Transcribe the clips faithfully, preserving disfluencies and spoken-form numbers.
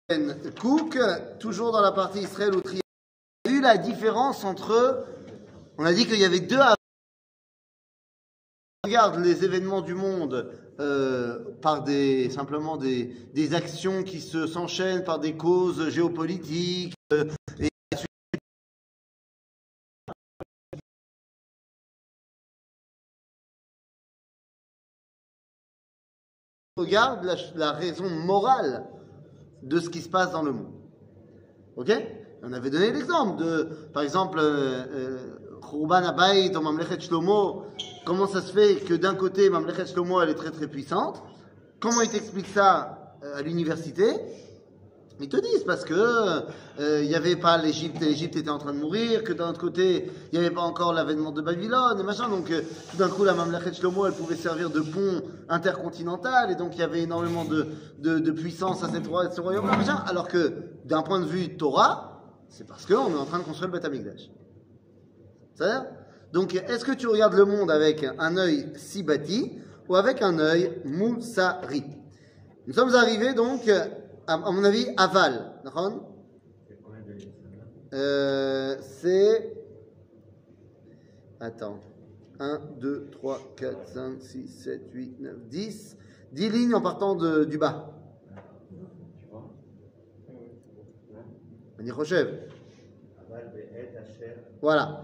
Cook, toujours dans la partie Israël ou Triangle, il y a eu la différence entre, on a dit qu'il y avait deux. Regarde les événements du monde euh, par des simplement des, des actions qui se s'enchaînent par des causes géopolitiques. Euh, et regarde la, la raison morale de ce qui se passe dans le monde. Ok? On avait donné l'exemple de, par exemple, Khurban Abayit ou Mamlechet Shlomo. Comment ça se fait que d'un côté, Mamlechet Shlomo, elle est très très puissante? Comment ils t'expliquent ça à l'université? Ils te disent parce que il euh, n'y avait pas l'Égypte, l'Égypte était en train de mourir, que d'un autre côté, il n'y avait pas encore l'avènement de Babylone et machin. Donc euh, tout d'un coup, la Mamlechet Shlomo, elle pouvait servir de pont intercontinental et donc il y avait énormément de, de, de puissance à cette, ce royaume machin. Alors que d'un point de vue Torah, c'est parce qu'on est en train de construire le Beth Amikdash. C'est-à-dire? Donc, est-ce que tu regardes le monde avec un œil sibati ou avec un œil moussari? Nous sommes arrivés donc, à, à mon avis, à Val. Euh, c'est. Attends. un, deux, trois, quatre, cinq, six, sept, huit, neuf, dix. dix lignes en partant de, du bas. Voilà.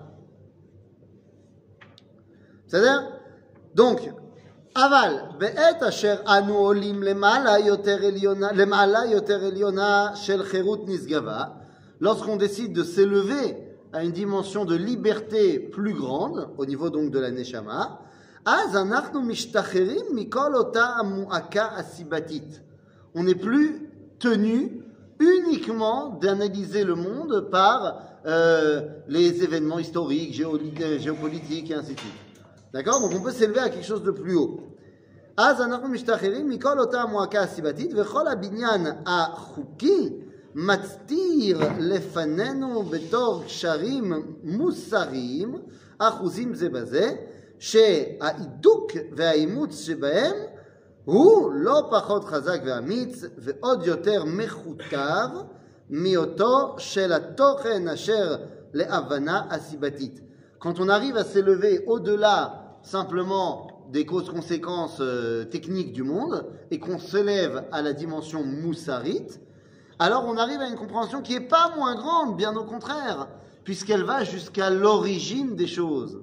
C'est-à-dire, donc, Aval, be'et asher anu olim lemala yoter eliona, lemala yoter eliona shel cherut nisgava, lorsqu'on décide de s'élever à une dimension de liberté plus grande, au niveau donc de la neshama, az anachnu mishtacherim mikol ota mu'aka asibatit. On n'est plus tenu uniquement d'analyser le monde par euh, les événements historiques, géopolitiques et ainsi de suite. D'accord? Donc on peut s'élever à quelque chose de plus haut. אז אנחנו משתחררים מכל אותה המועקה הסיבתית וכל הבניין החוקי מצטיר לפנינו בתור קשרים מוסריים אחוזים זה בזה שההידוק והאימוץ שבהם הוא לא פחות חזק ואמיץ ועוד יותר מכותב מאותו של התוכן אשר להבנה הסיבתית. Quand on arrive à s'élever au-delà simplement des causes-conséquences euh, techniques du monde et qu'on s'élève à la dimension moussarite, alors on arrive à une compréhension qui n'est pas moins grande, bien au contraire, puisqu'elle va jusqu'à l'origine des choses.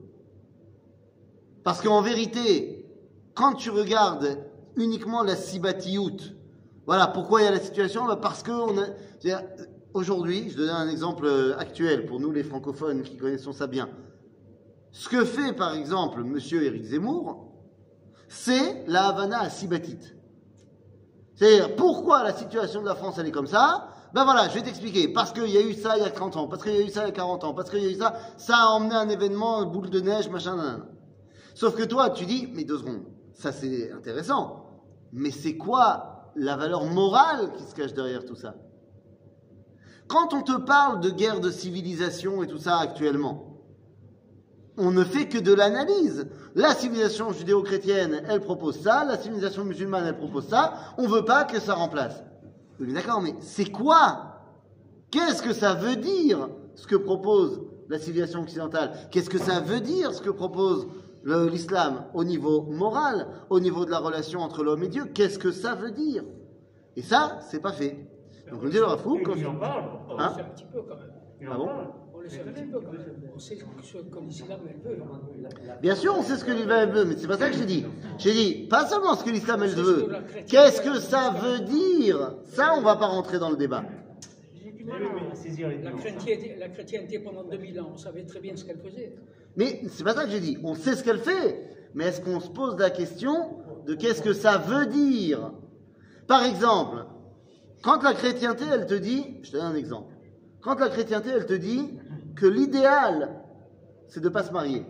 Parce qu'en vérité, quand tu regardes uniquement la sibatiout, voilà, pourquoi il y a la situation? Parce que on a, aujourd'hui, je donne un exemple actuel pour nous les francophones qui connaissons ça bien. Ce que fait par exemple M. Éric Zemmour, c'est la Havana à Sibatite. C'est-à-dire, pourquoi la situation de la France elle est comme ça? Ben voilà, je vais t'expliquer. Parce qu'il y a eu ça il y a trente ans, parce qu'il y a eu ça il y a quarante ans, parce qu'il y a eu ça, ça a emmené un événement, boule de neige, machin, nan. Sauf que toi, tu dis, mais deux secondes, ça c'est intéressant, mais c'est quoi la valeur morale qui se cache derrière tout ça? Quand on te parle de guerre de civilisation et tout ça actuellement, on ne fait que de l'analyse. La civilisation judéo-chrétienne, elle propose ça, la civilisation musulmane, elle propose ça, on ne veut pas que ça remplace. Oui, mais d'accord, mais c'est quoi? Qu'est-ce que ça veut dire, ce que propose la civilisation occidentale? Qu'est-ce que ça veut dire, ce que propose le, l'islam au niveau moral, au niveau de la relation entre l'homme et Dieu? Qu'est-ce que ça veut dire? Et ça, c'est pas fait. Donc on dit le Rav Kook, quand il en parle, on le sait un petit peu quand même. Ah bon? On le sait un petit peu quand même. On sait ce que l'islam elle veut. Bien sûr, on sait ce que l'islam veut, mais c'est pas ça que j'ai dit. J'ai dit pas seulement ce que l'islam elle veut. Qu'est-ce que ça veut dire? Ça, on va pas rentrer dans le débat. J'ai du mal à saisir les nuances. La chrétienté, la chrétienté pendant deux mille ans, on savait très bien ce qu'elle faisait. Mais c'est pas ça que j'ai dit. On sait ce qu'elle fait, mais est-ce qu'on se pose la question de qu'est-ce que ça veut dire? Par exemple, quand la chrétienté, elle te dit, je te donne un exemple. Quand la chrétienté, elle te dit que l'idéal, c'est de ne pas se marier.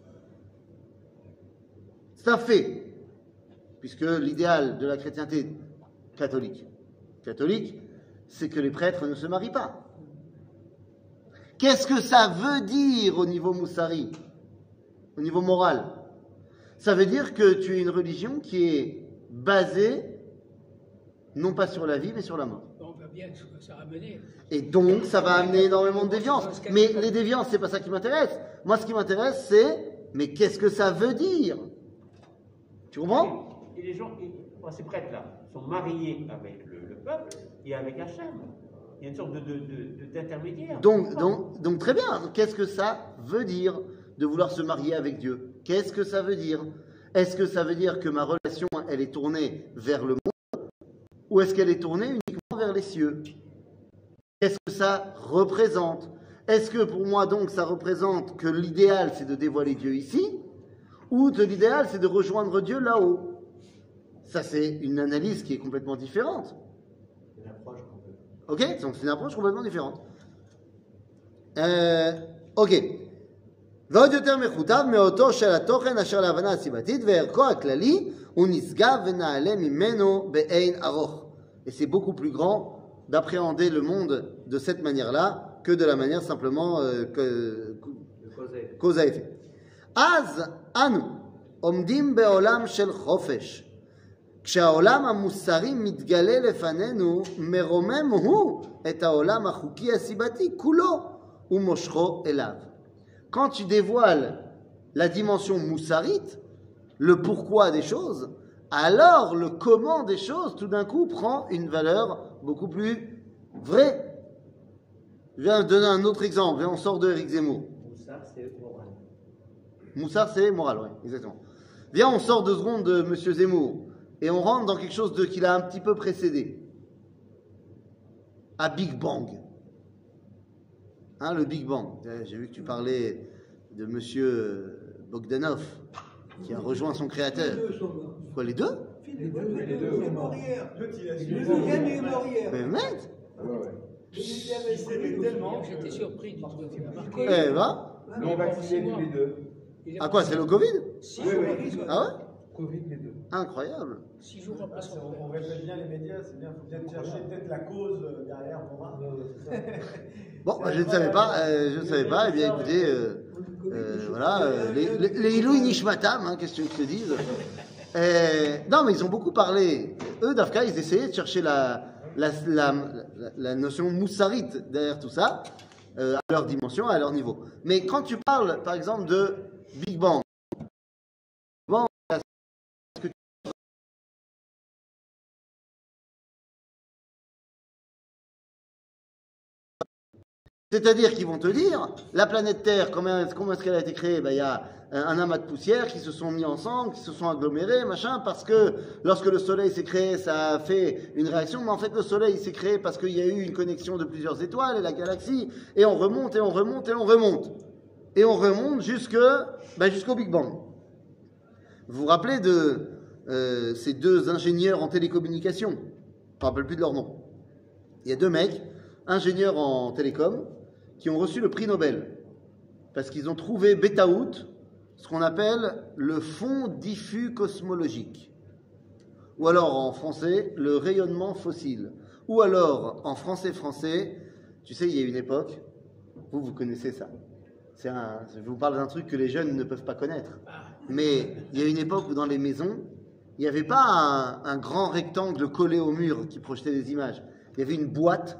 C'est un fait, puisque l'idéal de la chrétienté catholique, catholique, c'est que les prêtres ne se marient pas. Qu'est-ce que ça veut dire au niveau moussari, au niveau moral? Ça veut dire que tu es une religion qui est basée non pas sur la vie, mais sur la mort. Bon, vois bien ce que ça a amené. Et donc, ça va amener énormément de déviance. Mais les déviances, c'est pas ça qui m'intéresse. Moi, ce qui m'intéresse, c'est, mais qu'est-ce que ça veut dire? Tu comprends? Et les gens, et, bon, ces prêtres-là, sont mariés avec le, le peuple et avec Hachem. Il y a une sorte de, de, de, d'intermédiaire. Donc, donc, donc, très bien. Qu'est-ce que ça veut dire de vouloir se marier avec Dieu? Qu'est-ce que ça veut dire? Est-ce que ça veut dire que ma relation, elle est tournée vers le monde? Ou est-ce qu'elle est tournée uniquement vers les cieux? Qu'est-ce que ça représente? Est-ce que pour moi, donc, ça représente que l'idéal, c'est de dévoiler Dieu ici? Ou que l'idéal, c'est de rejoindre Dieu là-haut? Ça, c'est une analyse qui est complètement différente. Une approche complètement. Ok? Donc, c'est une approche complètement différente. Euh, ok. ועוד יותר מחוטב מאותו של התוכן אשר להבנה הסיבתית וערכו הכללי הוא נשגב ונעלה ממנו באין ארוך. Et c'est beaucoup plus grand d'appréhender le monde de cette manière-là que de la manière simplement euh, que, cause à effet. אז אנו עומדים בעולם של חופש. כשהעולם המוסרי מתגלה לפנינו, מרומם הוא את העולם החוקי הסיבתי כולו ומושכו אליו. Quand tu dévoiles la dimension moussarite, le pourquoi des choses, alors le comment des choses, tout d'un coup, prend une valeur beaucoup plus vraie. Je viens de donner un autre exemple. On sort de Éric Zemmour. Moussard, c'est moral. Moussard, c'est moral, oui, exactement. Viens, on sort deux secondes de M. Zemmour et on rentre dans quelque chose de, qui l'a un petit peu précédé. À Big Bang. Hein, le Big Bang. J'ai vu que tu parlais de M. Bogdanov, qui a rejoint son créateur. Quoi, les deux? Les deux, les deux. Il est mort hier. Le deuxième est mort hier. Mais mec! J'étais surpris du truc. Eh ben, Non, vaccinés tous les deux. à quoi, c'est le Covid? Six Oui, jours, oui. Ah ouais? Covid, les deux. Incroyable. six jours après son On répète bien les médias, c'est bien, il faut peut-être chercher peut-être la cause euh, derrière pour voir. Bon, je ne savais pas, euh, je ne savais pas. Eh bien, écoutez, euh, euh, voilà, euh, les, les, les Ilouï Nishmatam, hein, qu'est-ce que tu te dises? Euh, non, mais ils ont beaucoup parlé. Eux, Dafka, ils essayaient de chercher la, la, la, la, la notion moussarite derrière tout ça, euh, à leur dimension, à leur niveau. Mais quand tu parles, par exemple, de Big Bang, bon, c'est-à-dire qu'ils vont te dire, la planète Terre, comment, comment est-ce qu'elle a été créée? Ben, il y a un amas de poussière qui se sont mis ensemble, qui se sont agglomérés, machin, parce que lorsque le Soleil s'est créé, ça a fait une réaction, mais en fait le Soleil s'est créé parce qu'il y a eu une connexion de plusieurs étoiles et la galaxie, et on remonte, et on remonte, et on remonte. Et on remonte jusque, ben, jusqu'au Big Bang. Vous vous rappelez de euh, ces deux ingénieurs en télécommunications? Je ne me rappelle plus de leur nom. Il y a deux mecs, ingénieurs en télécom, qui ont reçu le prix Nobel parce qu'ils ont trouvé Betaout, ce qu'on appelle le fond diffus cosmologique, ou alors en français le rayonnement fossile, ou alors en français français, tu sais, il y a une époque, vous vous connaissez ça, c'est un, je vous parle d'un truc que les jeunes ne peuvent pas connaître, mais il y a une époque où dans les maisons il n'y avait pas un, un grand rectangle collé au mur qui projetait des images, il y avait une boîte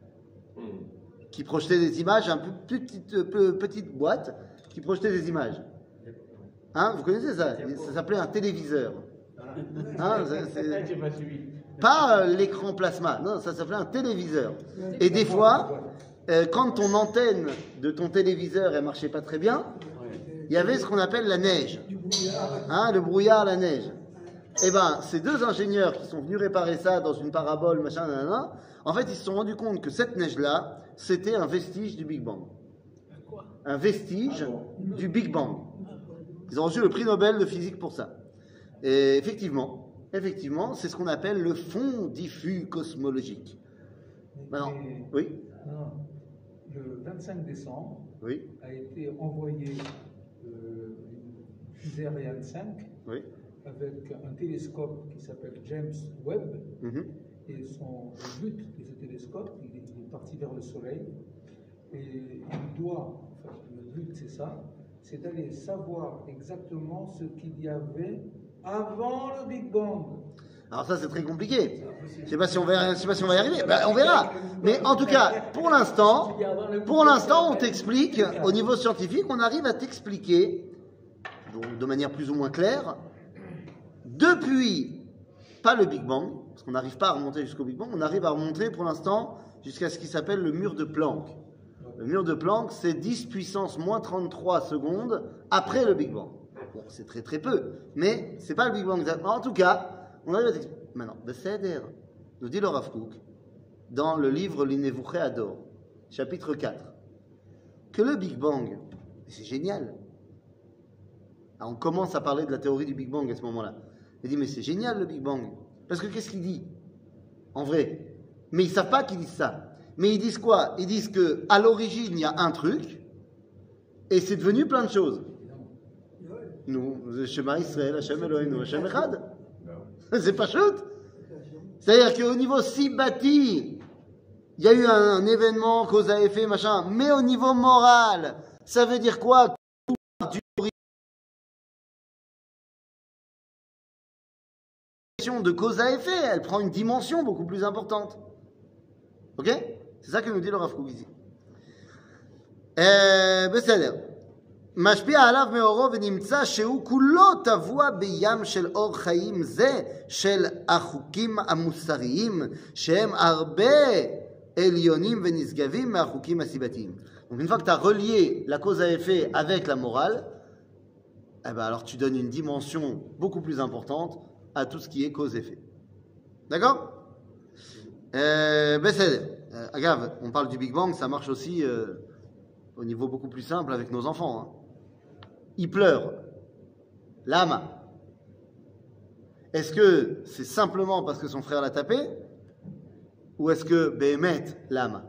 qui projetait des images, une petite, petite boîte qui projetait des images. Hein, vous connaissez ça? Ça s'appelait un téléviseur. Hein, c'est, pas l'écran plasma, non, ça s'appelait un téléviseur. Et des fois, euh, quand ton antenne de ton téléviseur ne marchait pas très bien, il y avait ce qu'on appelle la neige. Hein, le brouillard, la neige. Eh bien, ces deux ingénieurs qui sont venus réparer ça dans une parabole, machin, nanana, en fait, ils se sont rendus compte que cette neige-là, c'était un vestige du Big Bang. Un vestige du Big Bang. Ils ont reçu le prix Nobel de physique pour ça. Et effectivement, effectivement, c'est ce qu'on appelle le fond diffus cosmologique. Maintenant, oui. Non, le vingt-cinq décembre oui. a été envoyé euh, une fusée Ariane cinq oui. avec un télescope qui s'appelle James Webb. Mm-hmm. Et son, le but de ce télescope, il est, il est parti vers le Soleil. Et il doit, enfin, le but c'est ça, c'est d'aller savoir exactement ce qu'il y avait avant le Big Bang. Alors ça, c'est très compliqué. Je ne sais pas si on va, je sais pas si on va y arriver. Ben, on verra. Mais en tout cas, pour l'instant, pour l'instant, on t'explique, au niveau scientifique, on arrive à t'expliquer, donc de manière plus ou moins claire, depuis, pas le Big Bang, parce qu'on n'arrive pas à remonter jusqu'au Big Bang, on arrive à remonter pour l'instant jusqu'à ce qui s'appelle le mur de Planck. Le mur de Planck, c'est dix puissance moins trente-trois secondes après le Big Bang. Bon, c'est très très peu, mais c'est pas le Big Bang exactement. En tout cas, on arrive à t'expliquer. Maintenant, Besséder, nous dit le Rav Kook, dans le livre L'Inevuché Ador, chapitre quatre, que le Big Bang, c'est génial. Alors on commence à parler de la théorie du Big Bang à ce moment-là. Il dit, mais c'est génial le Big Bang. Parce que qu'est-ce qu'il dit en vrai? Mais ils ne savent pas qu'ils disent ça. Mais ils disent quoi? Ils disent qu'à l'origine, il y a un truc, et c'est devenu plein de choses. Nous, Shema Israël, Hashem Eloheinu, Hashem Echad. C'est pas chouette. C'est-à-dire qu'au niveau si bâti, il y a eu un, un événement, cause à effet, machin, mais au niveau moral, ça veut dire quoi? De cause à effet, elle prend une dimension beaucoup plus importante. Ok? C'est ça que nous dit le Rav Kook ici. בסדר. משפיע עליו מאורו ונמצא שהוא כולו טבוע בים של אור חיים זה של החוקים המוסריים שהם הרבה עליונים ונשגבים מהחוקים הסיבתיים. Donc une fois que tu as relié la cause à effet avec la morale, eh ben alors tu donnes une dimension beaucoup plus importante à tout ce qui est cause-effet. D'accord? euh, ben c'est, euh, agave, on parle du Big Bang, ça marche aussi euh, au niveau beaucoup plus simple avec nos enfants. Hein. Ils pleurent. L'âme. Est-ce que c'est simplement parce que son frère l'a tapé? Ou est-ce que Béhémet l'âme?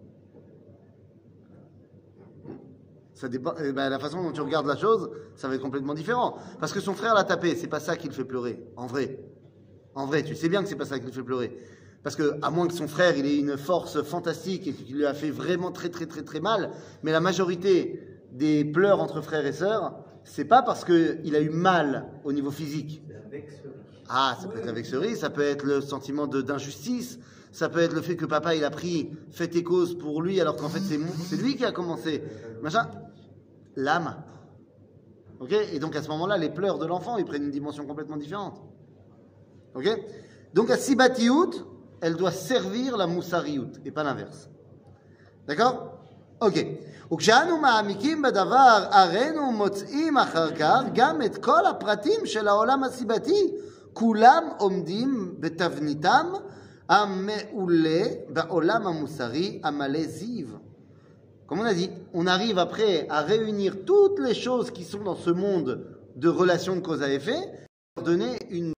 Ça dépend, eh ben, la façon dont tu regardes la chose, ça va être complètement différent. Parce que son frère l'a tapé, c'est pas ça qui le fait pleurer, en vrai. En vrai, tu sais bien que c'est pas ça qui le fait pleurer. Parce que, à moins que son frère, il ait une force fantastique et qu'il lui a fait vraiment très très très très mal, mais la majorité des pleurs entre frères et sœurs, c'est pas parce qu'il a eu mal au niveau physique. Ah, ça peut être la vexerie, ça peut être le sentiment de, d'injustice, ça peut être le fait que papa il a pris fait et cause pour lui alors qu'en fait c'est, c'est lui qui a commencé. Machin. L'âme. Ok? Et donc à ce moment-là, les pleurs de l'enfant, ils prennent une dimension complètement différente. Ok? Donc la sibatiout, elle doit servir la moussariout et pas l'inverse. D'accord? Ok. וכשאנו מעמיקים בדבר, הראינו מוצאים אחר כך גם את כל הפרטים של העולם הסיבתי, כולם עומדים בתבניתם המעולה בעולם המוסרי המלא זיו. Comme on a dit, on arrive après à réunir toutes les choses qui sont dans ce monde de relations de cause à effet, pour donner une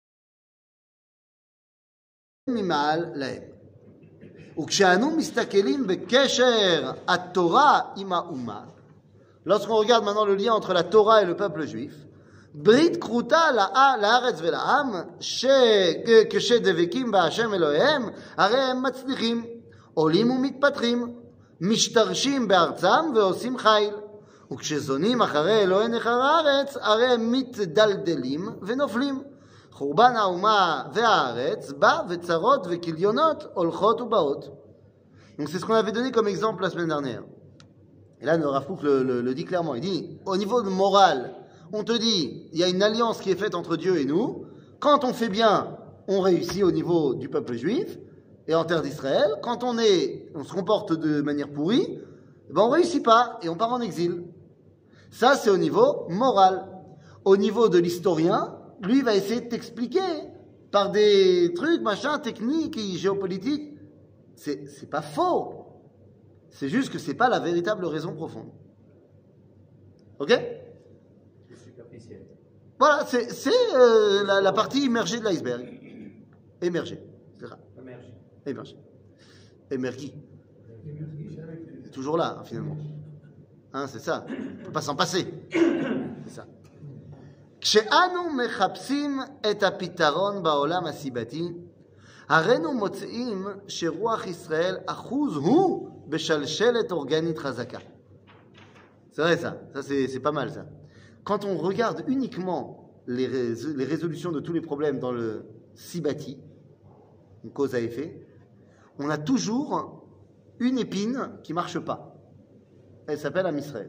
mimal lahem. וכשאנו מסתכלים בקשר התורה עם האומה, lorsqu'on regarde maintenant le lien entre la Torah et le peuple juif, ברית כרותה לארץ ולעם, כשדבקים בהשם אלוהיהם, הרי הם מצליחים, עולים ומתפתחים, משתרשים בארצם ועושים חיל. וכשזונים אחרי אלוהי נכר הארץ, הרי הם מתדלדלים ונופלים. חורבן האומה והארץ בא וצרות וכליונות הולכות ובאות. Donc c'est ce qu'on avait donné comme exemple la semaine dernière. Et là, le Rav Kook le, le, le dit clairement. Il dit, au niveau de moral, on te dit, il y a une alliance qui est faite entre Dieu et nous. Quand on fait bien, on réussit au niveau du peuple juif et en terre d'Israël. Quand on est, on se comporte de manière pourrie, ben on réussit pas et on part en exil. Ça, c'est au niveau moral. Au niveau de l'historien, lui va essayer de t'expliquer par des trucs, machin, techniques et géopolitiques. C'est, c'est pas faux. C'est juste que c'est pas la véritable raison profonde. Ok? C'est superficiel. Voilà, c'est, c'est euh, la, la partie immergée de l'iceberg. Émergée. C'est ça. Émergé. Émergée. Émergée. C'est toujours là, hein, finalement. Hein, c'est ça. On ne peut pas s'en passer. C'est ça. כשאנו מחפשים את הפתרון בעולם הסיבתי, הרינו מוצאים שרוח ישראל אחוז הוא בשלשלת אורגנית חזקה. C'est vrai ça, ça c'est, c'est pas mal ça. Quand on regarde uniquement les, rés- les résolutions de tous les problèmes dans le Sibati, une cause à effet, on a toujours une épine qui ne marche pas. Elle s'appelle Am Israël.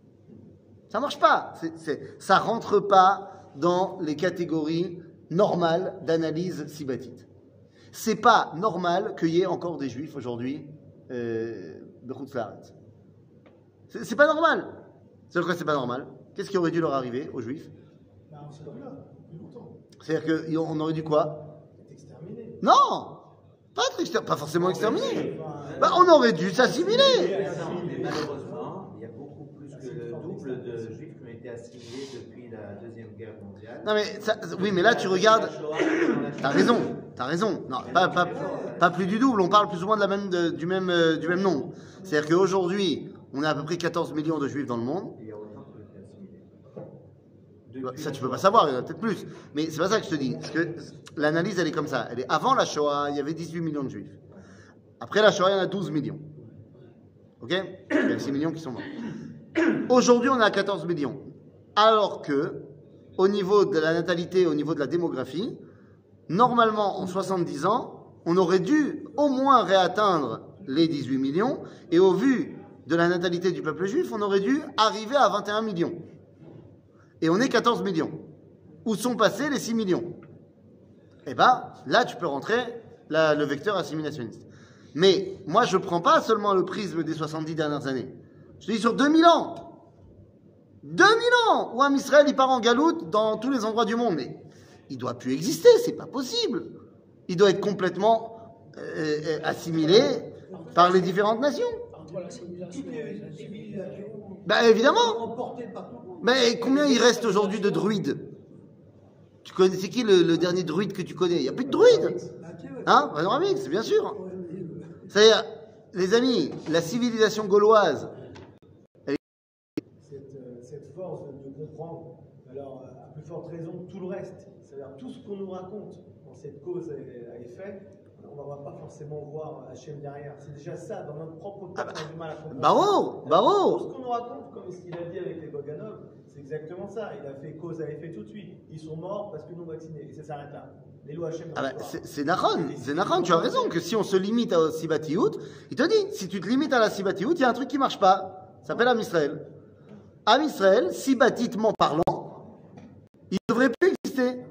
Ça ne marche pas. C'est, c'est, ça ne rentre pas dans les catégories normales d'analyse sibatite. Ce n'est pas normal qu'il y ait encore des juifs aujourd'hui euh, de Chutz La'aretz. C'est, c'est pas normal. C'est quoi, c'est pas normal? Qu'est-ce qui aurait dû leur arriver aux juifs? Bah, on serait là, plus longtemps. C'est-à-dire qu'on aurait dû quoi? Être exterminé. Non! Pas, être exter- pas forcément exterminé. Bah, on aurait dû s'assimiler. Mais malheureusement, il y a beaucoup plus que le double de juifs qui ont été assimilés depuis la Deuxième Guerre mondiale. Non mais ça, oui, mais là tu regardes. T'as raison, t'as raison. Non, pas, pas, pas plus du double. On parle plus ou moins de la même, de- du même, euh, du même nombre. C'est-à-dire qu'aujourd'hui, on a à peu près quatorze millions de juifs dans le monde. Il y a autant qui ont été assimilés. Bah, Depuis ça la tu peux pas Shoah. savoir, il y en a peut-être plus. Mais c'est pas ça que je te dis. Parce que l'analyse elle est comme ça. Elle est avant la Shoah, il y avait dix-huit millions de juifs. Après la Shoah, il y en a douze millions. Ok? Il y a six millions qui sont morts. Aujourd'hui, on est à quatorze millions. Alors que, au niveau de la natalité, au niveau de la démographie, normalement, en soixante-dix ans, on aurait dû au moins réatteindre les dix-huit millions. Et au vu de la natalité du peuple juif, on aurait dû arriver à vingt et un millions. Et on est quatorze millions. Où sont passés les six millions? Eh bien, là, tu peux rentrer la- le vecteur assimilationniste. Mais moi, je ne prends pas seulement le prisme des soixante-dix dernières années. Je te dis sur deux mille ans. deux mille ans où Am Israël il part en galoute dans tous les endroits du monde. Mais il ne doit plus exister, c'est pas possible. Il doit être complètement euh, euh, assimilé par les différentes nations. Entre la civilisation et la civilisation. Ben évidemment. Emporté par tout le monde. Mais combien il reste aujourd'hui de druides? Tu connais, c'est qui le, le dernier druide que tu connais? Il n'y a plus de druides. Hein? Panoramique, c'est bien sûr. C'est-à-dire, les amis, la civilisation gauloise, Cette, euh, cette force de, de comprendre, alors euh, à plus forte raison, tout le reste. C'est-à-dire tout ce qu'on nous raconte dans cette cause à, à effet, on ne va pas forcément voir Hachem derrière. C'est déjà ça, dans notre propre cas, on a du mal à comprendre. Barreau, Tout Barreau. ce qu'on nous raconte, comme ce qu'il a dit avec les Boganov, c'est exactement ça. Il a fait cause à effet tout de suite. Ils sont morts parce que nous vaccinés. Et ça s'arrête là. Les lois Hachem. Ah bah, c'est c'est Nahon, c'est Nahon, tu as raison, que si on se limite à Sibatiout, il te dit, si tu te limites à la Sibatiout, il y a un truc qui ne marche pas. Ça s'appelle Am Israël. Am Israël, sibatitement parlant, il ne devrait plus exister.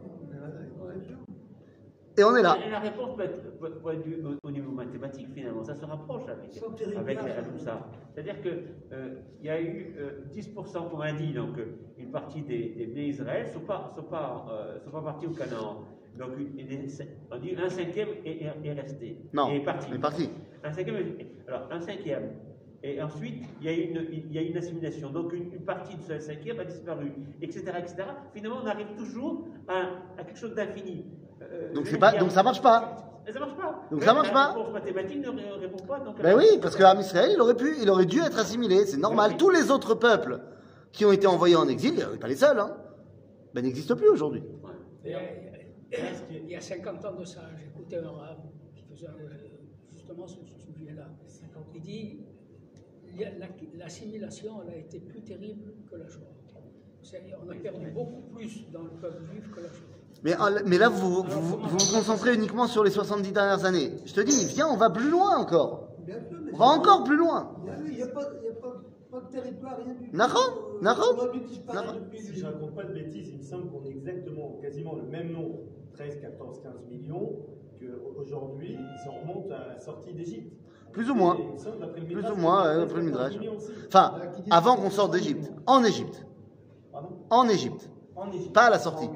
Et on est là. Et la réponse peut être, peut- peut être du- au, au niveau mathématique, finalement. Ça se rapproche avec, avec la- tout ça. C'est-à-dire qu'il euh, y a eu euh, dix pour cent, comme on dit, donc euh, une partie des, des Bnei Israël ne sont pas, sont, pas, euh, sont pas partis au Canaan. Donc une- une- on dit un cinquième est, est- est resté. Non, est parti. il est parti. Un cinquième, est- alors un cinquième. Et ensuite, il y a une, il y a une assimilation. Donc une, une partie de ce cinquième a disparu, et cetera, et cetera. Finalement, on arrive toujours à, à quelque chose d'infini. Euh, Donc je c'est veux pas- dire- donc ça marche pas. Mais ça marche pas. Donc Mais ça marche la pas. réponse mathématique ne ré- répond pas. Donc Ben oui, parce que Am Israël, il aurait pu, il aurait dû être assimilé, c'est normal. Oui. Tous les autres peuples qui ont été envoyés en exil, on n'est pas les seuls, hein, ben n'existent plus aujourd'hui. Il y a- il y a cinquante ans de ça, j'écoutais un rab qui faisait euh, justement sur ce sujet-là. Il dit il y a- la- l'assimilation elle a été plus terrible que la Shoah. C'est-à-dire, on a perdu beaucoup plus dans le peuple juif que la Shoah. Mais, mais là, vous vous, vous vous vous concentrez uniquement sur les soixante-dix dernières années. Je te dis, viens, on va plus loin encore. On va encore plus loin. Il n'y a, pas, il y a pas, pas de territoire, rien du tout. Nahon, Nahon. On a dû disparaître Nahon. depuis Si je ne raconte pas de bêtises, il me semble qu'on est exactement, quasiment le même nombre, treize, quatorze, quinze millions, qu'aujourd'hui, ils en remontent à la sortie d'Égypte. Plus ou moins. Et il me semble, d'après le Plus Midrash, ou moins, qu'on est ouais, d'après le quatorze Midrash. millions aussi. Enfin, avant qu'on sorte d'Égypte. En Égypte. Pardon? En Égypte. En Égypte. Pas à la sortie.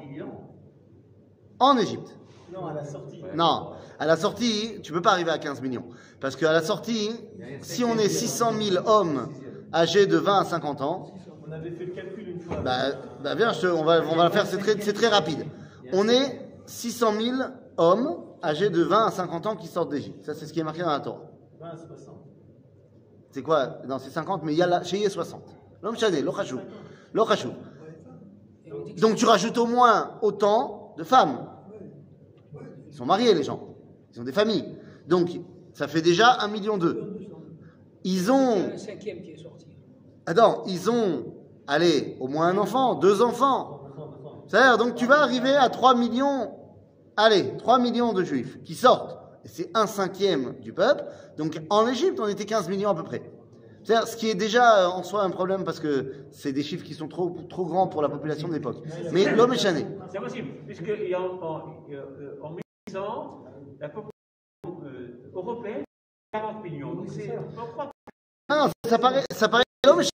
En Égypte. Non, à la sortie. Non, à la sortie, tu peux pas arriver à quinze millions. Parce qu'à la sortie, si on est six cent mille hommes âgés de vingt à cinquante ans, On avait fait le calcul une fois. bah, bah viens, je te- on, va, on va le faire, c'est très, c'est très rapide. On est six cent mille hommes âgés de vingt à cinquante ans qui sortent d'Égypte. Ça, c'est ce qui est marqué dans la Torah. vingt à soixante. C'est quoi? Non, c'est cinquante, mais il y a là, chez y est soixante. L'homme chané, l'ochachou. L'ochachou. Et on dit que Donc tu rajoutes au moins autant de femmes. Ils sont mariés, les gens. Ils ont des familles. Donc, ça fait déjà un million deux. Ils c'est ont... un cinquième qui est sorti. Attends, ils ont... Allez, au moins un enfant, deux enfants. C'est-à-dire, donc tu vas arriver à trois millions, allez, trois millions de juifs qui sortent. Et c'est un cinquième du peuple. Donc en Égypte, on était quinze millions à peu près. C'est-à-dire, ce qui est déjà en soi un problème parce que c'est des chiffres qui sont trop, trop grands pour la population de l'époque. Mais l'homme est chané. C'est possible, puisque en, en, en mille huit cents, la population euh, européenne est quarante millions. Donc c'est. Non, non, ça paraît, ça paraît l'homme est chané.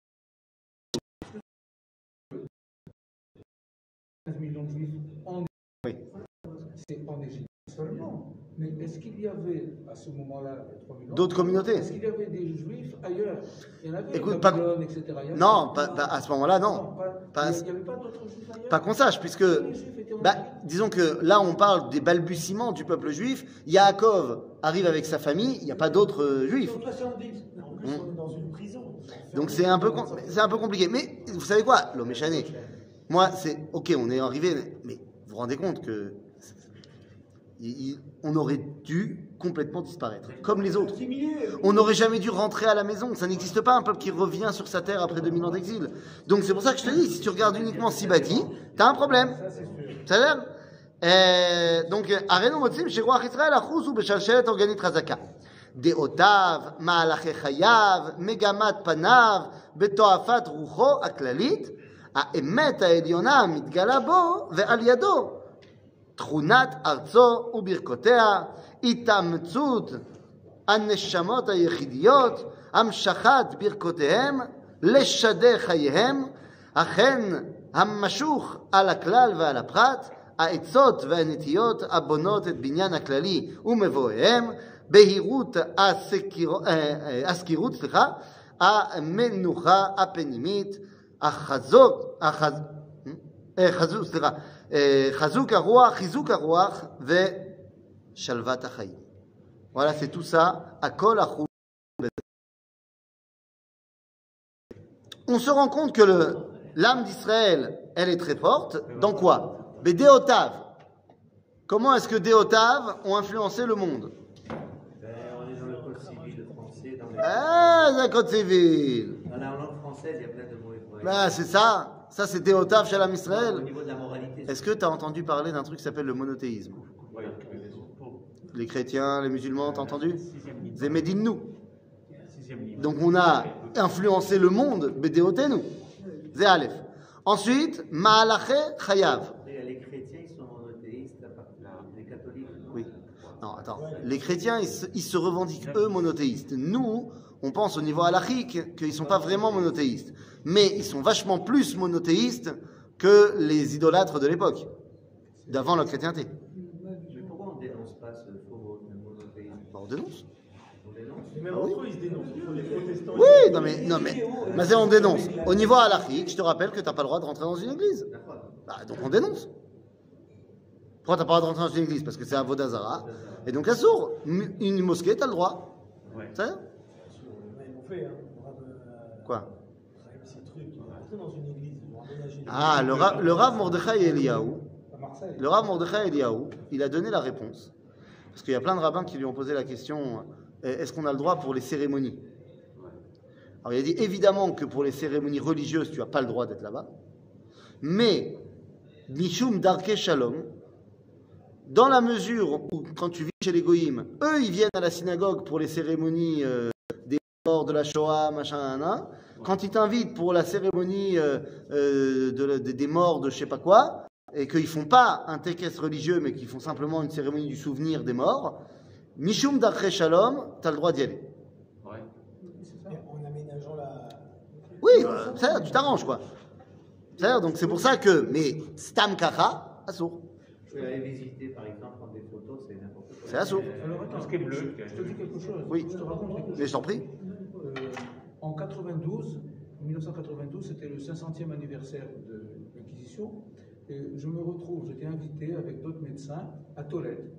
quinze millions de juifs en Oui. C'est en Égypte seulement. Mais est-ce qu'il y avait, à ce moment-là, trois millions, D'autres communautés? Est-ce qu'il y avait des juifs ailleurs? Il y en avait, Écoute, pas, Babylone, et cetera. Il y non, avait- pas, pas- à ce moment-là, non. Non, pas- Pas- il n'y avait pas d'autres juifs ailleurs. Pas qu'on sache, puisque, Les juifs étaient en bah, Égypte. disons que là, on parle des balbutiements du peuple juif. Yaakov arrive avec sa famille, il n'y a pas d'autres euh, juifs. soixante-dix. En plus, on est dans une prison. Donc c'est un peu, com- c'est un peu compliqué. Mais vous savez quoi? L'homme est chané. Moi, c'est ok, on est arrivé, mais vous vous rendez compte que il- il- on aurait dû complètement disparaître, comme les autres. On n'aurait jamais dû rentrer à la maison. Ça n'existe pas un peuple qui revient sur sa terre après deux mille ans d'exil. Donc c'est pour ça que je te dis, si tu regardes uniquement Sibati, t'as un problème. Ça a l'air. Euh, donc, Arenu Motzim, chez Roi Israël, Achuz ou Beshalshelet Organit Razaka. Deotav, Ma'alache Chayav, Megamat Panav, Betoafat Rucho, Aklalit, Aemet Aeliona, Mitgala Bo, Ve'al Yado. תכונת ארצו וברכותיה, התאמצות הנשמות היחידיות, המשכת ברכותיהם, לשדר חייהם, אכן המשוך על הכלל ועל הפרט, העצות והנטיות הבונות את בניין הכללי ומבואיהם, בהירות הסקירות, סליחה, המנוחה הפנימית, החזוק, החז... חזוק, סליחה, חיזוק הרוח, חיזוק הרוח ושלוות החיים. Voilà, c'est tout ça. Akol achou. On se rend compte que le, l'âme d'Israël, elle est très forte. Dans quoi? Bédéotav. Comment est-ce que Déotav ont influencé le monde? Ben, on est dans le code civil français. Dans, les... Ah, le code civil. dans la langue française, il y a plein de mots hébreux. Bah, c'est ça. Ça, c'est Déotav Shalom Au Israël. niveau de la moralité. Est-ce que tu as entendu parler d'un truc qui s'appelle le monothéisme? Les chrétiens, les musulmans, t'as entendu? Zemedinnu. Donc on a influencé le monde, Bédéotenu. Zé Aleph. Ensuite, Ma'alache Chayav. Après, les chrétiens, ils sont monothéistes, à part les catholiques. non. Oui. Non, attends. Les chrétiens, ils se, ils se revendiquent, eux, monothéistes. Nous, on pense au niveau halachique qu'ils ne sont pas vraiment monothéistes. Mais ils sont vachement plus monothéistes que les idolâtres de l'époque, d'avant la chrétienté. Mais pourquoi on ne dénonce pas ce faux monothéisme? Bah, on dénonce. On dénonce. Et même entre eux, ils se dénoncent. Entre les protestants. Oui, non mais, non mais, mais c'est on dénonce. Au niveau halachique, je te rappelle que tu n'as pas le droit de rentrer dans une église. D'accord. Bah, donc on dénonce. Pourquoi tu n'as pas le droit de rentrer dans une église? Parce que c'est un Vodazara. Et donc, à sourd, une mosquée, tu as le droit. Ouais. Ça Ils l'ont fait, hein. Quoi? Ces trucs, ils vont rentrer dans une église, ils vont emménager. Ah, le, ra- le Rav Mordechai Eliyahu, À Marseille. le Rav Mordechai Eliyahu, il a donné la réponse. Parce qu'il y a plein de rabbins qui lui ont posé la question, est-ce qu'on a le droit pour les cérémonies? Alors il a dit, évidemment que pour les cérémonies religieuses, tu n'as pas le droit d'être là-bas. Mais, Mishum Darke Shalom, dans la mesure où, quand tu vis chez les Goïms, eux, ils viennent à la synagogue pour les cérémonies euh, des morts de la Shoah, machin, nan, quand ils t'invitent pour la cérémonie euh, euh, de, de, des morts de je sais pas quoi, et qu'ils font pas un tekes religieux, mais qu'ils font simplement une cérémonie du souvenir des morts, Mishum Darche Shalom, tu as le droit d'y aller. Ouais. En aménageant la. Oui, euh, ça, tu t'arranges, quoi. C'est-à-dire, donc c'est pour ça que, mais Stam Kacha, assourd. Je vais aller visiter, par exemple, prendre des photos, c'est n'importe quoi. C'est assourd. Alors, attends, Tout ce qui est bleu. Je te dis quelque chose. Oui. Je te raconte quelque chose. Mais je t'en prie. Euh, en quatre-vingt-douze, en mille neuf cent quatre-vingt-douze, c'était le cinq centième anniversaire de l'Inquisition. Et je me retrouve, j'étais invité avec d'autres médecins à Tolède.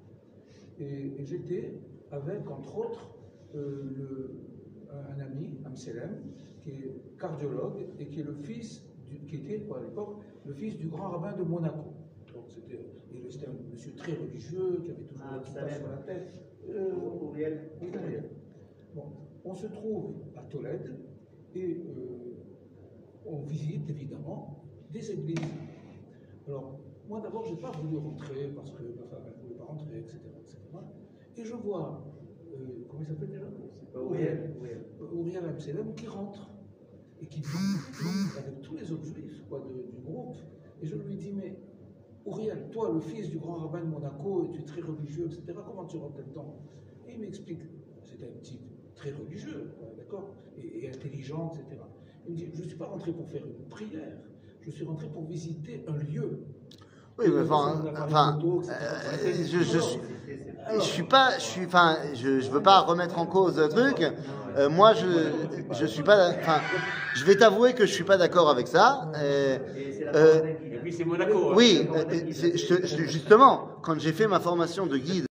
Et, et j'étais avec, entre autres, euh, le, un, un ami, Amselem, qui est cardiologue et qui est le fils, du, qui était à l'époque le fils du grand rabbin de Monaco. Donc c'était, et c'était un monsieur très religieux qui avait toujours Ah, un kippa Amselem. sur la tête. Euh, Ouriel. oui, Gabriel. Bon, on se trouve à Tolède et euh, on visite évidemment des églises. Alors, moi d'abord, je n'ai pas voulu rentrer parce que ma femme ne voulait pas rentrer, et cetera, et cetera. Et je vois, euh, comment il s'appelle déjà Uriel, Uriel Amselem qui rentre et qui dit, avec tous les autres juifs quoi, de, du groupe. Et je lui dis, mais Uriel, toi, le fils du grand rabbin de Monaco, et tu es très religieux, et cetera, comment tu rentres là-dedans? Et il m'explique, c'était un type très religieux, d'accord, et, et intelligent, et cetera. Il me dit, je ne suis pas rentré pour faire une prière, je suis rentré pour visiter un lieu. Oui, mais enfin, enfin euh, je, je, suis, je suis pas, je suis, enfin, je, je veux pas remettre en cause le truc. Euh, moi, je, je suis pas, enfin, je vais t'avouer que je suis pas d'accord avec ça. Euh, euh, Et puis c'est Monaco. hein. oui, euh, c'est- je- je- justement, quand j'ai fait ma formation de guide.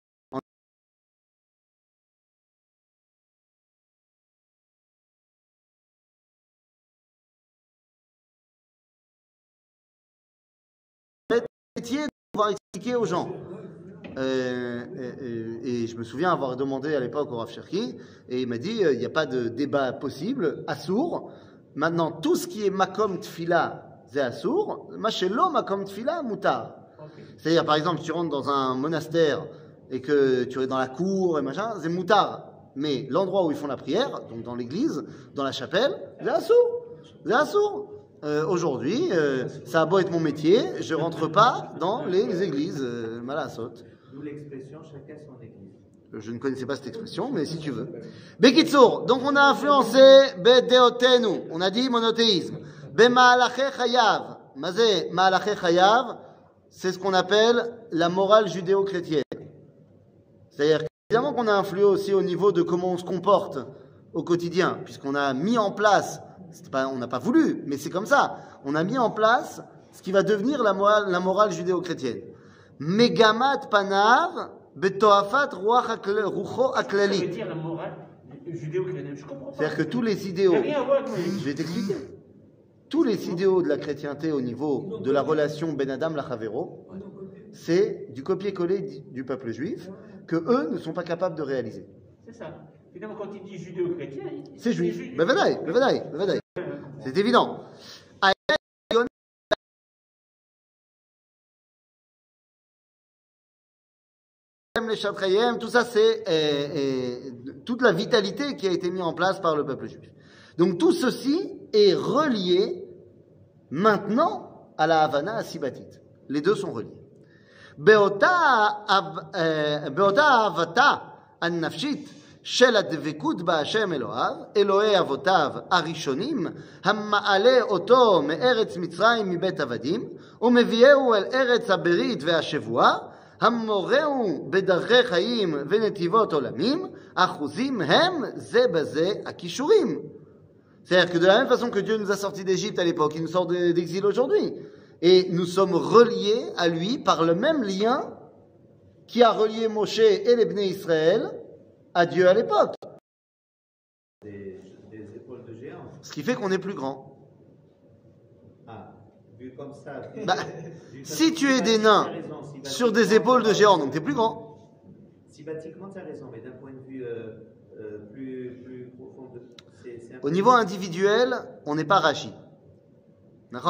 Métier de pouvoir expliquer aux gens. Euh, et, et- et je me souviens avoir demandé à l'époque au Rav Cherki, et il m'a dit euh, il n'y a pas de débat possible, assour. Maintenant, tout ce qui est makom tfila, c'est assour. Machelo makom tfila, mutar. C'est-à-dire, par exemple, si tu rentres dans un monastère et que tu es dans la cour et machin, c'est mutar. Mais l'endroit où ils font la prière, donc dans l'église, dans la chapelle, c'est assour. C'est assour. Euh, Aujourd'hui, euh, ça a beau être mon métier, je rentre pas dans les églises, euh, malasot. D'où l'expression chacun son église. Je ne connaissais pas cette expression, mais si tu veux. Bekitsour, donc on a influencé Bedeotenu, on a dit monothéisme. Bema'alache chayav, mazé ma'alache chayav, c'est ce qu'on appelle la morale judéo-chrétienne. C'est-à-dire évidemment qu'on a influé aussi au niveau de comment on se comporte au quotidien, puisqu'on a mis en place, c'est pas, on n'a pas voulu, mais c'est comme ça, on a mis en place ce qui va devenir la morale, la morale judéo-chrétienne. Megamat panav betoafat ruach rucho Ça veut aklali. dire la morale judéo-chrétienne. Je comprends pas. C'est-à-dire que tous les idéaux, Il n'y a rien à voir avec moi. je vais t'expliquer, tous les idéaux de la chrétienté au niveau de la relation Ben Adam Lachavero, c'est du copier-coller du- du peuple juif que eux ne sont pas capables de réaliser. C'est ça. Finalement, quand il dit judéo-chrétien, il- C'est il- juif. il- Bevadaï, bevadaï, bevadaï. C'est évident. Les Chatrayem, tout ça, c'est euh, euh, toute la vitalité qui a été mise en place par le peuple juif. Donc tout ceci est relié maintenant à la Havana Asibatite. Les deux sont reliés. Beota av- euh, beota avata an-nafshit של הדבקות בהשם אלוהיו, אלוהי אבותיו הראשונים, המעלה אותו מארץ מצרים מבית עבדים, ומביאהו אל ארץ הברית והשבועה, המורהו בדרכי חיים ונתיבות עולמים, אחוזים הם זה בזה הכישורים. C'est-à-dire que de la même façon que Dieu nous a sortis d'Égypte à l'époque, il nous sort de- d'exil aujourd'hui. Et nous sommes reliés à lui par le même lien qui a relié Moshe et les Bnei Israël à Dieu à l'époque. Des, des épaules de géant. Ce qui fait qu'on est plus grand. Ah, vu comme ça. Bah, vu si comme- tu es des Sibatiquement, nains t'as raison, sibatiquement, sur des épaules de géants, donc tu es plus grand. Sibatiquement, tu as raison, mais d'un point de vue euh, euh, plus, plus profond, de- c'est c'est un Au peu- niveau individuel, on n'est pas Rashi. D'accord ?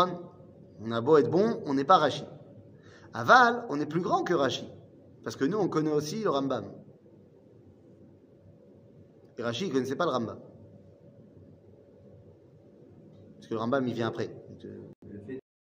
On a beau être bon, on n'est pas Rashi. Aval, on est plus grand que Rashi. Parce que nous, on connaît aussi le Rambam. Et Rashi, il ne connaissait pas le Rambam. Parce que le Rambam, il vient après. le fait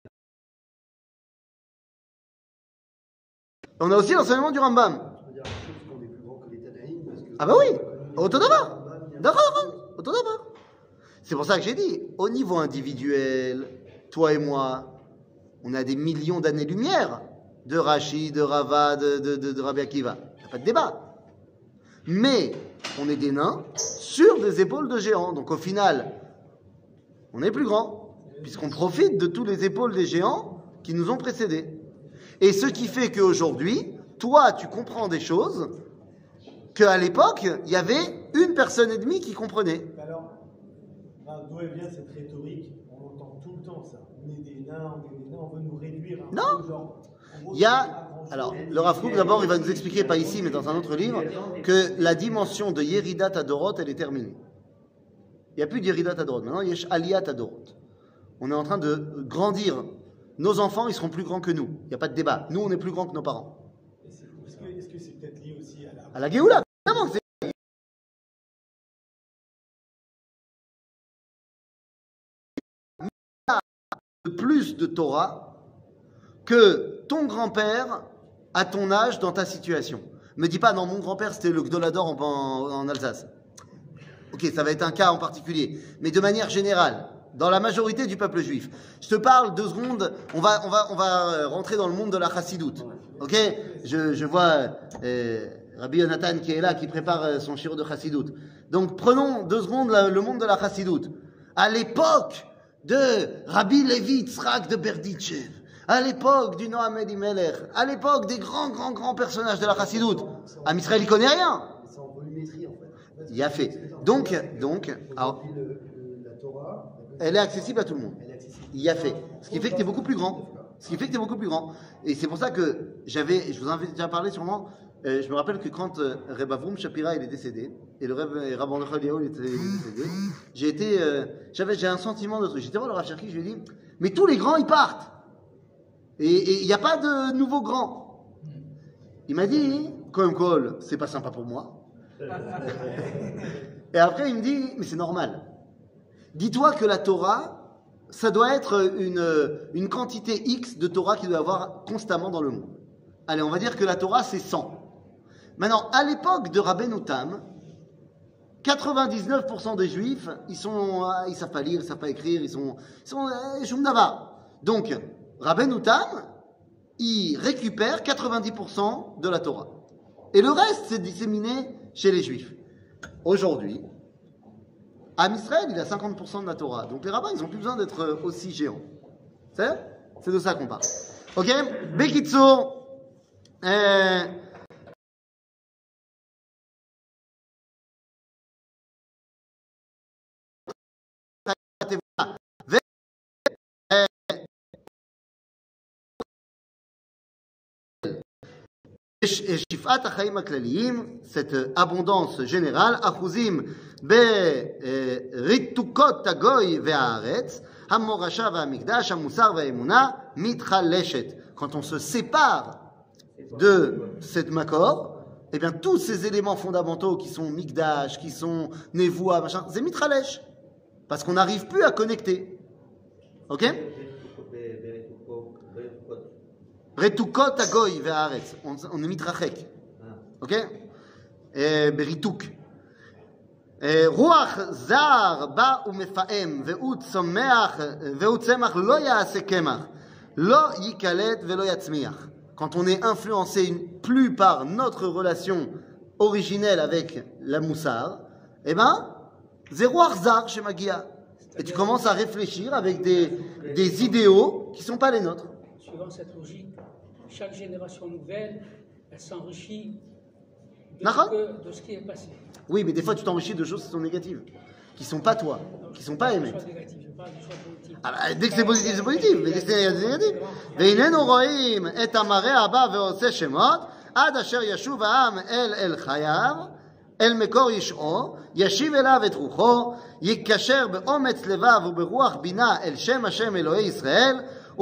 On a aussi l'enseignement du Rambam. Je veux dire, je pense qu'on est plus grand que les Tanaïm, parce que... Ah bah oui, Autodava. D'accord, Autodava. C'est pour ça que j'ai dit, au niveau individuel, toi et moi, on a des millions d'années-lumière de Rashi, de Rava, de, de, de, de Rabbi Akiva. Il n'y a pas de débat. Mais on est des nains sur des épaules de géants. Donc au final, on est plus grand, puisqu'on profite de toutes les épaules des géants qui nous ont précédés. Et ce qui fait qu'aujourd'hui, toi, tu comprends des choses qu'à l'époque, il y avait une personne et demie qui comprenait. Mais alors, ah, d'où elle vient cette rhétorique? On entend tout le temps ça. On est des nains, on est des nains, on veut nous réduire. Un Non. peu, genre, en gros, Il y a, c'est pas grand-chose. alors, le Rav Kook, d'abord, il va nous expliquer, pas ici, mais dans un autre livre, que la dimension de Yeridat Adorot, elle est terminée. Il n'y a plus d'Yeridat Adorot. Maintenant, il y a Aliyat Adorot. On est en train de grandir nos enfants, ils seront plus grands que nous. Il n'y a pas de débat. Nous, on est plus grands que nos parents. Est-ce que est-ce que c'est peut-être lié aussi à la... À la Géoula, évidemment, c'est plus de Torah que ton grand-père à ton âge dans ta situation. Me dis pas, non, mon grand-père c'était le Gdolador en, en, en Alsace. Ok, ça va être un cas en particulier. Mais de manière générale, dans la majorité du peuple juif. Je te parle deux secondes, on va, on va, on va rentrer dans le monde de la chassidoute. Ok, je, je vois euh, Rabbi Yonatan qui est là, qui prépare son shiro de chassidoute. Donc prenons deux secondes le, le monde de la chassidoute. À l'époque de Rabbi Levi Yitzhak de Berditchev, à l'époque du Noam Elimelech, à l'époque des grands, grands, grands personnages de la chassidoute, Am Israël il connaît rien. C'est en volumétrie en fait. Il y a fait. Donc, donc, alors, elle est accessible à tout le monde. Il y a fait. Ce qui fait que tu es beaucoup plus grand. Ce qui fait que tu es beaucoup plus grand. Et c'est pour ça que j'avais, je vous en avais déjà parlé sûrement, euh, je me rappelle que quand euh, Reb Avrum Shapira il est décédé, et le Reb Rabban Eliyahu il était décédé, j'ai été, euh, j'avais, j'ai un sentiment de truc. J'étais voir le Rav Cherki, je lui ai dit, mais tous les grands ils partent. Et il n'y a pas de nouveaux grands. Il m'a dit, Kohem Kol, c'est pas sympa pour moi. Et après il me dit, mais c'est normal. Dis-toi que la Torah, ça doit être une, une quantité X de Torah qu'il doit y avoir constamment dans le monde. Allez, on va dire que la Torah, c'est cent. Maintenant, à l'époque de Rabbeinu Tam, quatre-vingt-dix-neuf pour cent des Juifs, ils sont, ils savent pas lire, ils savent pas écrire, ils sont, ils sont, euh, Shum Davar. Donc, Rabbeinu Tam, il récupère quatre-vingt-dix pour cent de la Torah. Et le reste, c'est disséminé chez les Juifs. Aujourd'hui, Am Israël, il a cinquante pour cent de la Torah. Donc les rabbins, ils n'ont plus besoin d'être aussi géants. C'est C'est de ça qu'on parle. Ok? Bekitso. Euh... Shifat HaChaim HaKlaliyim, cette abondance générale, Achuzim beritukot hagoy ve'haaretz, hamorasha ve'hamikdash, hamusar ve'emuna, mitchaleshet. Quand on se sépare de cette makor, eh bien tous ces éléments fondamentaux qui sont mikdash, qui sont nevoa, machin, c'est mitralesh. Parce qu'on n'arrive plus à connecter. Ok? Retukot hagoy ve'haaretz. On est mitrachek. Ok? Berituk. רוח זר בא ומפעם, והוא צומח, והוא צמח לא יעשה קמח, לא ייקלט ולא יצמיח. Quand on est influencé plus par notre relation originelle avec la moussar, eh ben, c'est roi zar chez Magia. Et tu commences à réfléchir avec des, des idéaux qui ne sont pas les nôtres. Suivant cette logique, chaque génération nouvelle, elle s'enrichit de, de ce qui est passé. Oui, mais des fois tu t'enrichis de choses qui sont négatives, qui ne sont pas toi, qui ne sont pas aimées. Ah bah, dès que c'est positif, c'est positif, mais dès que c'est négatif. והננו רואים את המראה הבא ועושה שמות, עד אשר ישוב העם אל אל חייו, אל מקור ישעו, ישיב אליו את רוחו, יקשר באומץ לבב וברוח בינה אל שם השם אלוהי ישראל,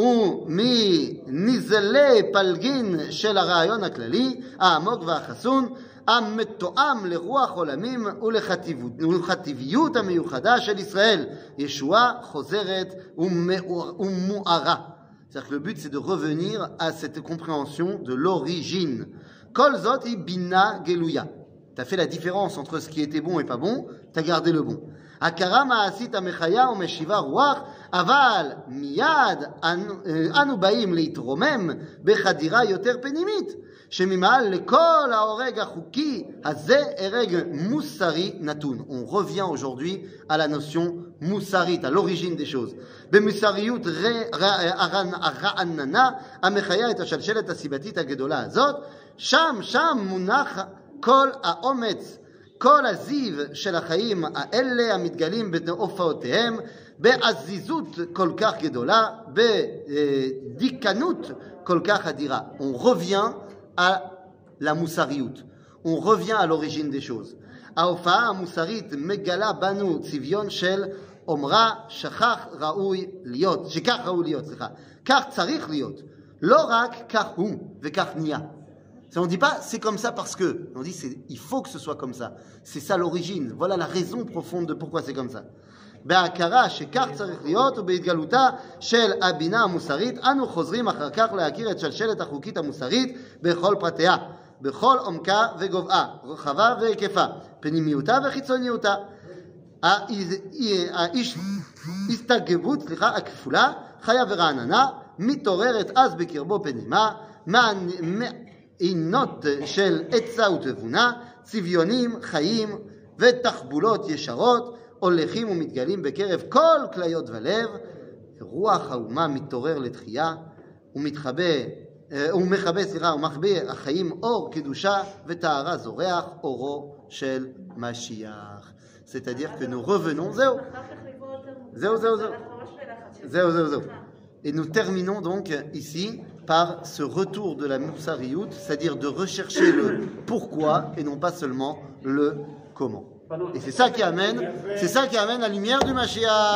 ומנזלי פלגין של הרעיון הכללי, העמוק והחסון, המתואם לרוח עולמים ולחטיביות המיוחדה של ישראל. ישועה חוזרת ומוארה. C'est-à-dire que le but, c'est de revenir à cette compréhension de l'origine. Kol zot hi bina geluya. Tu as fait la différence entre ce qui était bon et pas bon, tu as gardé le bon. הכרה מעשית המחיה ומשיבה רוח, אבל מיד אנו באים להתרומם בחדירה יותר פנימית, שממעל לכל ההורג החוקי הזה הרג מוסרי נתון. On revient aujourd'hui à la notion מוסרית, à l'origine des choses. במוסריות הרעננה המחיה את השלשלת הסיבתית הגדולה הזאת, שם שם מונח כל האומץ, כל הזיו של החיים האלה המתגלים בהופעותיהם, בעזיזות כל כך גדולה, בדיקנות כל כך אדירה. On revient à la moussariout. On revient à l'origine des choses. ההופעה המוסרית מגלה בנו צביון של אומרה שכח ראוי להיות, שכך ראוי להיות, סליחה, כך צריך להיות, לא רק כך הוא וכך נהיה. On ne dit pas c'est comme ça parce que, on dit c'est, il faut que ce soit comme ça. C'est ça l'origine, voilà la raison profonde de pourquoi c'est comme ça. בהכרה שכך צריך להיות ובהתגלותה של הבינה המוסרית אנו חוזרים אחר כך להכיר את שלשלת החוקית המוסרית בכל פרטיה, בכל עומקה וגובהה, רחבה והיקפה, פנימיותה וחיצוניותה. ההסתגבות, סליחה, הכפולה, חיה ורעננה, מתעוררת אז בקרבו פנימה, מעינות של עצה ותבונה, צביונים, חיים ותחבולות ישרות, הולכים ומתגלים בקרב כל כליות ולב, רוח האומה מתעורר לתחייה, ומתחבא, ומחבא, סליחה, ומחבא החיים אור קדושה וטהרה זורח אורו של משיח. C'est-à-dire que nous revenons, zéro, zéro, zéro, zéro, zéro, zéro, zéro. Et nous terminons donc ici par ce retour de la Moussariout, c'est-à-dire de rechercher le pourquoi et non pas seulement le comment. Et c'est ça qui amène, c'est ça qui amène la lumière du Mashiach.